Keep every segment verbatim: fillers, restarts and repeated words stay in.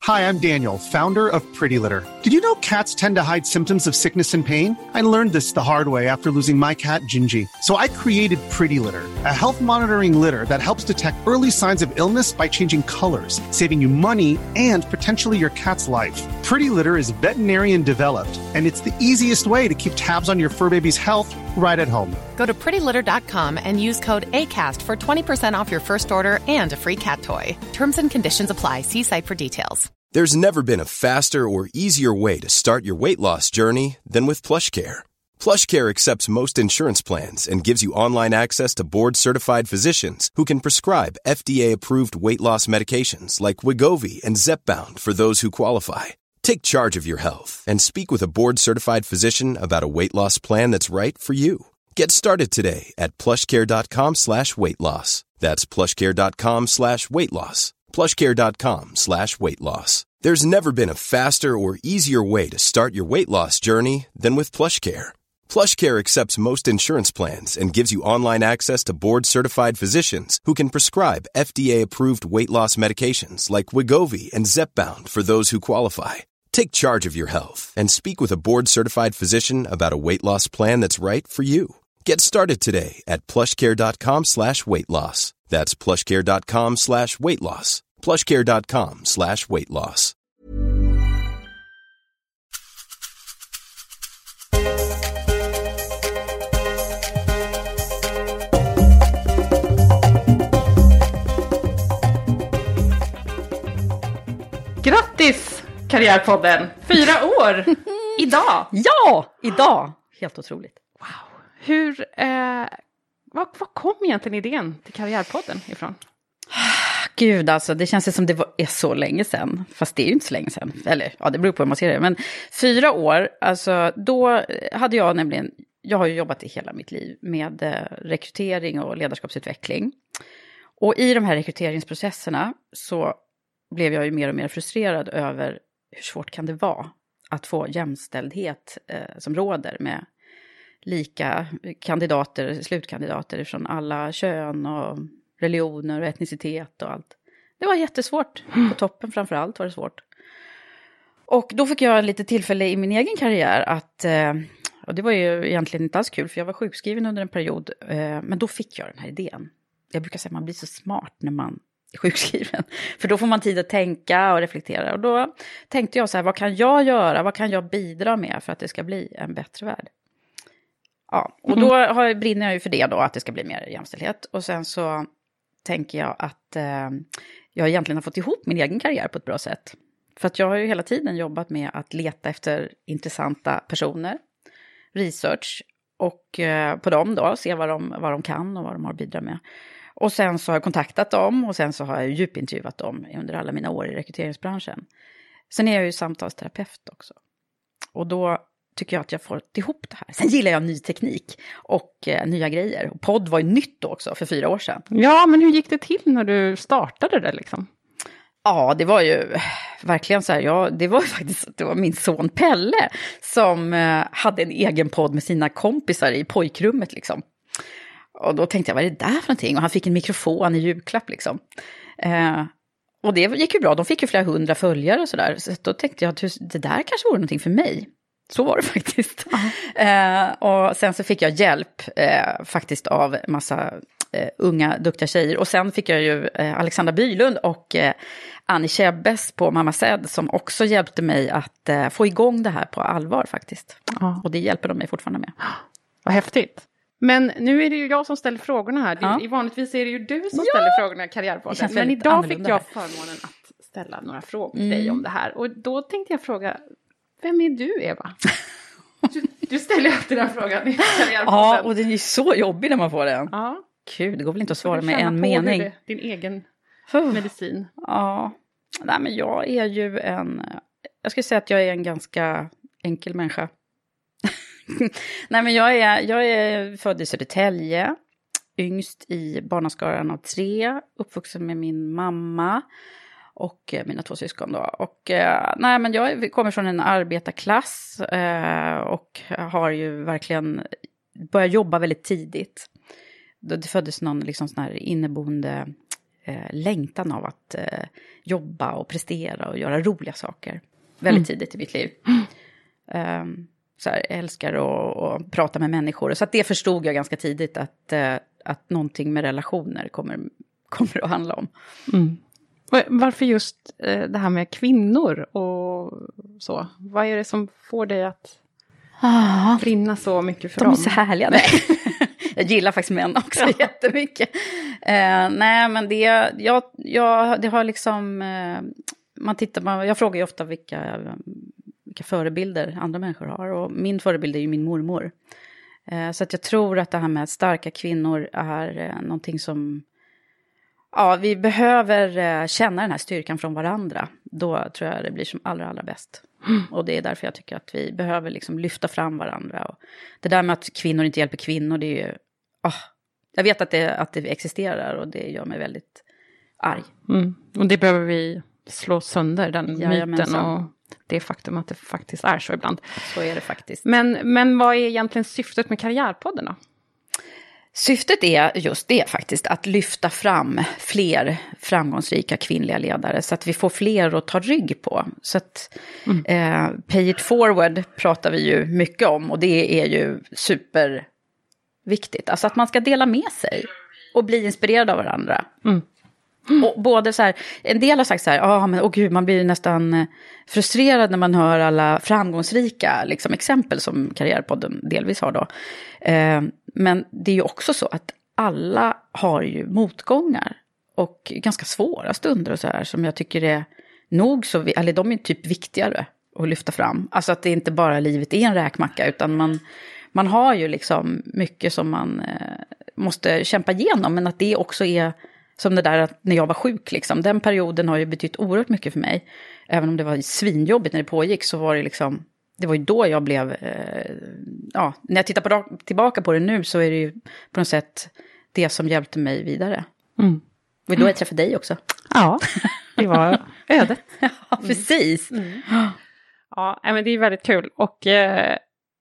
Hi, I'm Daniel, founder of Pretty Litter. Did you know cats tend to hide symptoms of sickness and pain? I learned this the hard way after losing my cat, Gingy. So I created Pretty Litter, a health monitoring litter that helps detect early signs of illness by changing colors, saving you money and potentially your cat's life. Pretty Litter is veterinarian developed, and it's the easiest way to keep tabs on your fur baby's health right at home. Go to pretty litter dot com and use code ACAST for twenty percent off your first order and a free cat toy. Terms and conditions apply. See site for details. There's never been a faster or easier way to start your weight loss journey than with PlushCare. PlushCare accepts most insurance plans and gives you online access to board-certified physicians who can prescribe F D A-approved weight loss medications like Wegovy and Zepbound for those who qualify. Take charge of your health and speak with a board-certified physician about a weight loss plan that's right for you. Get started today at plushcare.com slash weight loss. That's plushcare.com slash weight loss. plushcare.com slash weight loss. There's never been a faster or easier way to start your weight loss journey than with PlushCare. PlushCare accepts most insurance plans and gives you online access to board-certified physicians who can prescribe F D A-approved weight loss medications like Wegovy and Zepbound for those who qualify. Take charge of your health and speak with a board-certified physician about a weight loss plan that's right for you. Get started today at plushcare.com slash weight loss. That's plushcare.com slash weight loss. plushcare.com slash weight loss. Grattis, Karriärpodden! Fyra år! Idag! Ja, idag! Helt otroligt. Wow. Hur, eh, vad, vad kom egentligen idén till Karriärpodden ifrån? Gud, alltså det känns som det var, är så länge sedan. Fast det är ju inte så länge sedan. Eller, ja, det beror på hur man ser det. Men fyra år, alltså då hade jag nämligen, jag har ju jobbat i hela mitt liv med eh, rekrytering och ledarskapsutveckling. Och i de här rekryteringsprocesserna så blev jag ju mer och mer frustrerad över hur svårt kan det vara att få jämställdhet eh, som råder med lika kandidater, slutkandidater från alla kön och religioner och etnicitet och allt. Det var jättesvårt. På toppen framförallt var det svårt. Och då fick jag lite tillfälle i min egen karriär att, eh, och det var ju egentligen inte alls kul för jag var sjukskriven under en period, eh, men då fick jag den här idén. Jag brukar säga att man blir så smart när man är sjukskriven. För då får man tid att tänka och reflektera. Och då tänkte jag så här, vad kan jag göra? Vad kan jag bidra med för att det ska bli en bättre värld? Ja, och då har, brinner jag ju för det då, att det ska bli mer jämställdhet. Och sen så tänker jag att eh, jag egentligen har fått ihop min egen karriär på ett bra sätt. För att jag har ju hela tiden jobbat med att leta efter intressanta personer, research och eh, på dem då, se vad de, vad de kan och vad de har att bidra med. Och sen så har jag kontaktat dem och sen så har jag djupintervjuat dem under alla mina år i rekryteringsbranschen. Sen är jag ju samtalsterapeut också. Och då tycker jag att jag får ihop det här. Sen gillar jag ny teknik och eh, nya grejer. Och podd var ju nytt också för fyra år sedan. Ja, men hur gick det till när du startade det liksom? Ja, det var ju verkligen så här. Ja, det var ju faktiskt det var min son Pelle som eh, hade en egen podd med sina kompisar i pojkrummet liksom. Och då tänkte jag, vad är det där för någonting? Och han fick en mikrofon i julklapp liksom. Eh, och det gick ju bra. De fick ju flera hundra följare och sådär. Så då tänkte jag att det där kanske vore någonting för mig. Så var det faktiskt. Uh-huh. Eh, och sen så fick jag hjälp eh, faktiskt av massa eh, unga, duktiga tjejer. Och sen fick jag ju eh, Alexandra Bylund och eh, Annie Chebbes på Mamma Zed som också hjälpte mig att eh, få igång det här på allvar faktiskt. Uh-huh. Och det hjälper de mig fortfarande med. Vad häftigt. Men nu är det ju jag som ställer frågorna här. Ja. I vanligtvis är det ju du som ja. ställer frågorna i Karriärpodden. Men idag fick jag förmånen att ställa några frågor till mm. dig om det här. Och då tänkte jag fråga, vem är du Eva? Du, du ställer alltid den frågan i Karriärpodden. Ja, och det är ju så jobbigt när man får den. Ja. Gud, det går väl inte att svara med en mening. Det, din egen medicin. Ja, nej men jag är ju en, jag ska säga att jag är en ganska enkel människa. Nej men jag är, jag är född i Södertälje, yngst i barnaskaran av tre, uppvuxen med min mamma och mina två syskon då. Och nej men jag kommer från en arbetarklass och har ju verkligen börjat jobba väldigt tidigt. Det föddes någon liksom sån här inneboende eh, längtan av att eh, jobba och prestera och göra roliga saker. Väldigt mm. tidigt i mitt liv. Mm. Um, så här, jag älskar att, att prata med människor. Så att det förstod jag ganska tidigt att, uh, att någonting med relationer kommer, kommer att handla om. Mm. Varför just uh, det här med kvinnor och så? Vad är det som får dig att ah, brinna så mycket för de dem? De är så härliga. Jag gillar faktiskt män också ja. jättemycket. Uh, nej, men det, jag, jag, det har liksom... Uh, man tittar, man, jag frågar ju ofta vilka... vilka förebilder andra människor har. Och min förebild är ju min mormor. Eh, så att jag tror att det här med starka kvinnor är eh, någonting som... Ja, vi behöver eh, känna den här styrkan från varandra. Då tror jag det blir som allra, allra bäst. Mm. Och det är därför jag tycker att vi behöver liksom lyfta fram varandra. Och det där med att kvinnor inte hjälper kvinnor, det är ju... Oh, jag vet att det, att det existerar och det gör mig väldigt arg. Mm. Och det behöver vi slå sönder, den ja, myten och... Det faktum att det faktiskt är så ibland. Så är det faktiskt. Men, men vad är egentligen syftet med Karriärpodden då? Syftet är just det faktiskt. Att lyfta fram fler framgångsrika kvinnliga ledare. Så att vi får fler att ta rygg på. Så att mm. eh, pay it forward pratar vi ju mycket om. Och det är ju superviktigt. Alltså att man ska dela med sig. Och bli inspirerad av varandra. Mm. Mm. Och både så här, en del har sagt så här, ah, men åh gud, man blir nästan frustrerad när man hör alla framgångsrika liksom, exempel som Karriärpodden delvis har då. Eh, men det är ju också så att alla har ju motgångar och ganska svåra stunder och så här som jag tycker är nog så, eller de är typ viktigare att lyfta fram. Alltså att det inte bara livet är en räkmacka utan man, man har ju liksom mycket som man eh, måste kämpa igenom, men att det också är som det där att när jag var sjuk liksom. Den perioden har ju betytt oerhört mycket för mig. Även om det var svinjobbigt när det pågick så var det liksom... Det var ju då jag blev... Eh, ja, när jag tittar på, tillbaka på det nu så är det ju på något sätt det som hjälpte mig vidare. Mm. Och då jag träffade dig också. Ja, det var ödet. Ja, precis. Mm. Mm. Ja, men det är väldigt kul. Och eh,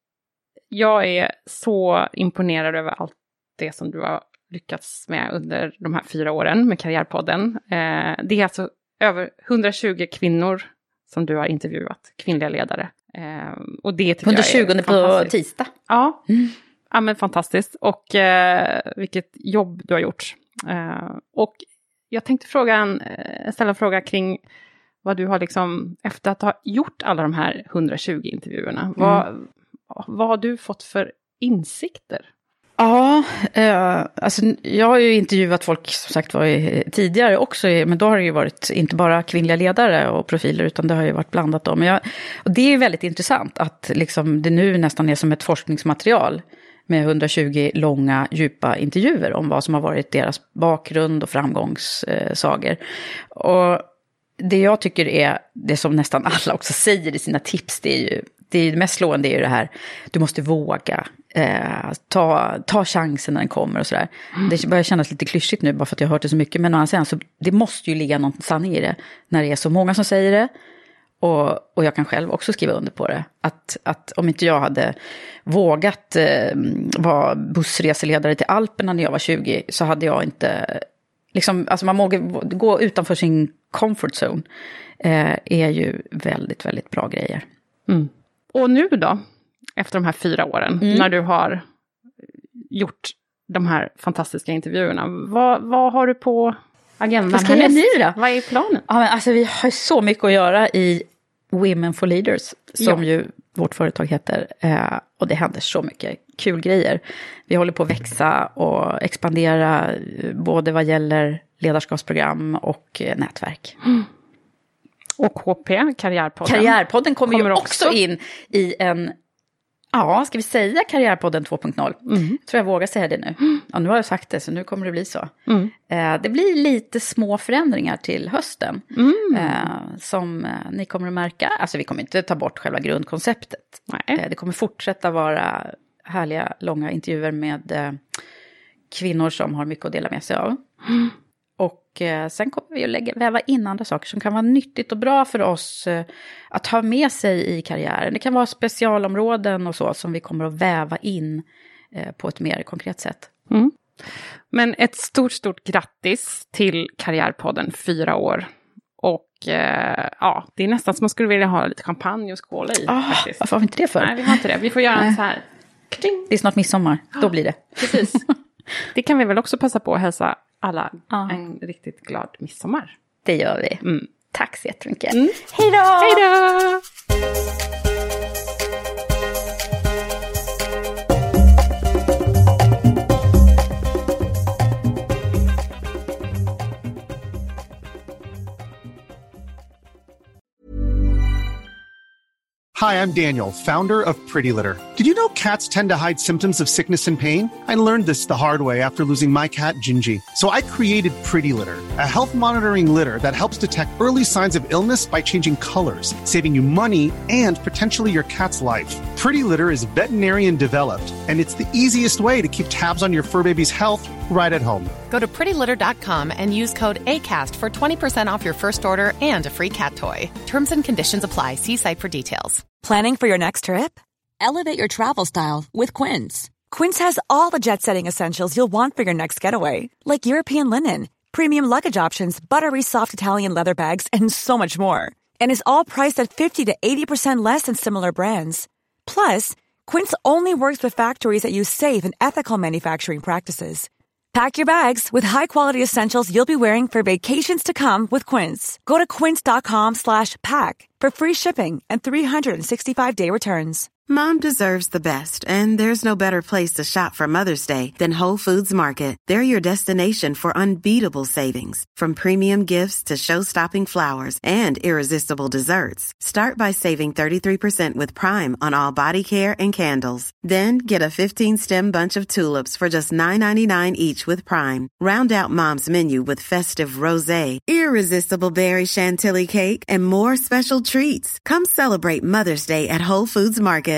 jag är så imponerad över allt det som du har lyckats med under de här fyra åren med Karriärpodden. Eh, det är alltså över hundratjugo kvinnor som du har intervjuat, kvinnliga ledare. Eh, och det tycker hundratjugo jag är på tisdag. Ja, mm. ja men fantastiskt. Och eh, vilket jobb du har gjort. Eh, och jag tänkte fråga en, ställa en fråga kring vad du har liksom, efter att ha gjort alla de här hundratjugo intervjuerna, mm. vad, vad har du fått för insikter? Ja, eh, alltså jag har ju intervjuat folk som sagt var tidigare också, men då har det ju varit inte bara kvinnliga ledare och profiler utan det har ju varit blandat då. Men jag, och det är ju väldigt intressant att liksom det nu nästan är som ett forskningsmaterial med hundratjugo långa, djupa intervjuer om vad som har varit deras bakgrund och framgångssagor. Och det jag tycker är det som nästan alla också säger i sina tips, det är ju det, är det mest slående är ju det här, du måste våga, eh, ta, ta chansen när den kommer och sådär. Mm. Det börjar kännas lite klyschigt nu bara för att jag har hört det så mycket, men å andra sidan så det måste ju ligga någon sanning i det när det är så många som säger det. Och, och jag kan själv också skriva under på det. Att, att om inte jag hade vågat eh, vara bussreseledare till Alperna när jag var tjugo så hade jag inte... Liksom, alltså man måste gå utanför sin comfort zone eh, är ju väldigt, väldigt bra grejer. Mm. Och nu då, efter de här fyra åren, mm. när du har gjort de här fantastiska intervjuerna, vad, vad har du på agendan? Vad ska jag nu då? Vad är planen? Ja, men alltså, vi har så mycket att göra i Women for Leaders, som ja. ju vårt företag heter. Eh, och det händer så mycket kul grejer. Vi håller på att växa och expandera både vad gäller ledarskapsprogram och eh, nätverk. Mm. Och K P, Karriärpodden. Karriärpodden kommer, kommer ju också in i en, ja, ska vi säga Karriärpodden två punkt noll? Mm. Tror jag vågar säga det nu. Mm. Ja, nu har jag sagt det, så nu kommer det bli så. Mm. Eh, det blir lite små förändringar till hösten. Mm. Eh, som eh, ni kommer att märka. Alltså vi kommer inte ta bort själva grundkonceptet. Eh, det kommer fortsätta vara härliga, långa intervjuer med eh, kvinnor som har mycket att dela med sig av. Mm. Och eh, sen kommer vi att lägga, väva in andra saker som kan vara nyttigt och bra för oss eh, att ha med sig i karriären. Det kan vara specialområden och så som vi kommer att väva in eh, på ett mer konkret sätt. Mm. Men ett stort, stort grattis till Karriärpodden fyra år. Och eh, ja, det är nästan som man skulle vilja ha lite champagne och skåla i. Oh, faktiskt. Varför har vi inte det för? Nej, vi har inte det. Vi får göra en så här. Det är snart midsommar, då blir det. Precis. Det kan vi väl också passa på att hälsa alla ja. en riktigt glad midsommar. Det gör vi. Mm. Tack så jättemycket. Mm. Hej då! Hej då! Hi, I'm Daniel, founder of Pretty Litter. Did you know cats tend to hide symptoms of sickness and pain? I learned this the hard way after losing my cat, Gingy. So I created Pretty Litter, a health monitoring litter that helps detect early signs of illness by changing colors, saving you money and potentially your cat's life. Pretty Litter is veterinarian developed, and it's the easiest way to keep tabs on your fur baby's health right at home. Go to pretty litter dot com and use code ACAST for twenty percent off your first order and a free cat toy. Terms and conditions apply. See site for details. Planning for your next trip? Elevate your travel style with Quince. Quince has all the jet-setting essentials you'll want for your next getaway, like European linen, premium luggage options, buttery soft Italian leather bags, and so much more. And is all priced at fifty to eighty percent less than similar brands. Plus, Quince only works with factories that use safe and ethical manufacturing practices. Pack your bags with high-quality essentials you'll be wearing for vacations to come with Quince. Go to quince dot com slash pack for free shipping and three sixty-five day returns. Mom deserves the best, and there's no better place to shop for Mother's Day than Whole Foods Market. They're your destination for unbeatable savings, from premium gifts to show-stopping flowers and irresistible desserts. Start by saving thirty-three percent with Prime on all body care and candles. Then get a fifteen-stem bunch of tulips for just nine ninety-nine each with Prime. Round out Mom's menu with festive rosé, irresistible berry chantilly cake, and more special treats. Come celebrate Mother's Day at Whole Foods Market.